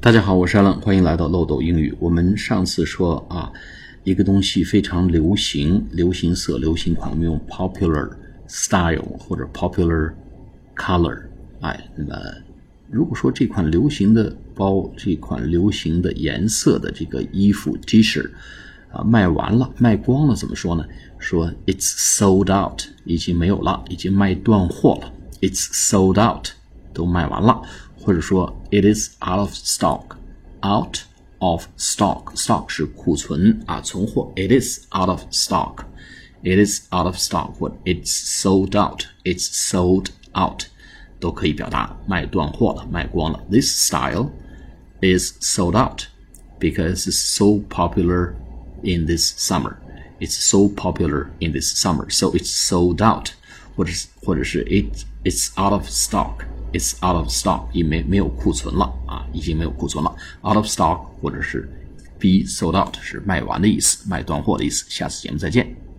大家好，我是 Alan， 欢迎来到漏斗英语。我们上次说一个东西非常流行，流行色、流行款，我们用 popular style 或者 popular color。那么如果说这款流行的包，这款流行的颜色的这个衣服 T 恤卖完了，卖光了，怎么说呢？说 it's sold out， 已经没有了，已经卖断货了。it's sold out， 都卖完了。或者说 it is out of stock， out of stock， stock 是库存存货。 it is out of stock， it is out of stock， 或 it's sold out， it's sold out， 都可以表达卖断货了，卖光了。 This style is sold out because it's so popular in this summer. It's so popular in this summer, so it's sold out. 或者是 it's out of stock，It's out of stock， 已没有库存了已经没有库存了。Out of stock 或者是 be sold out 是卖完的意思，卖断货的意思。下次节目再见。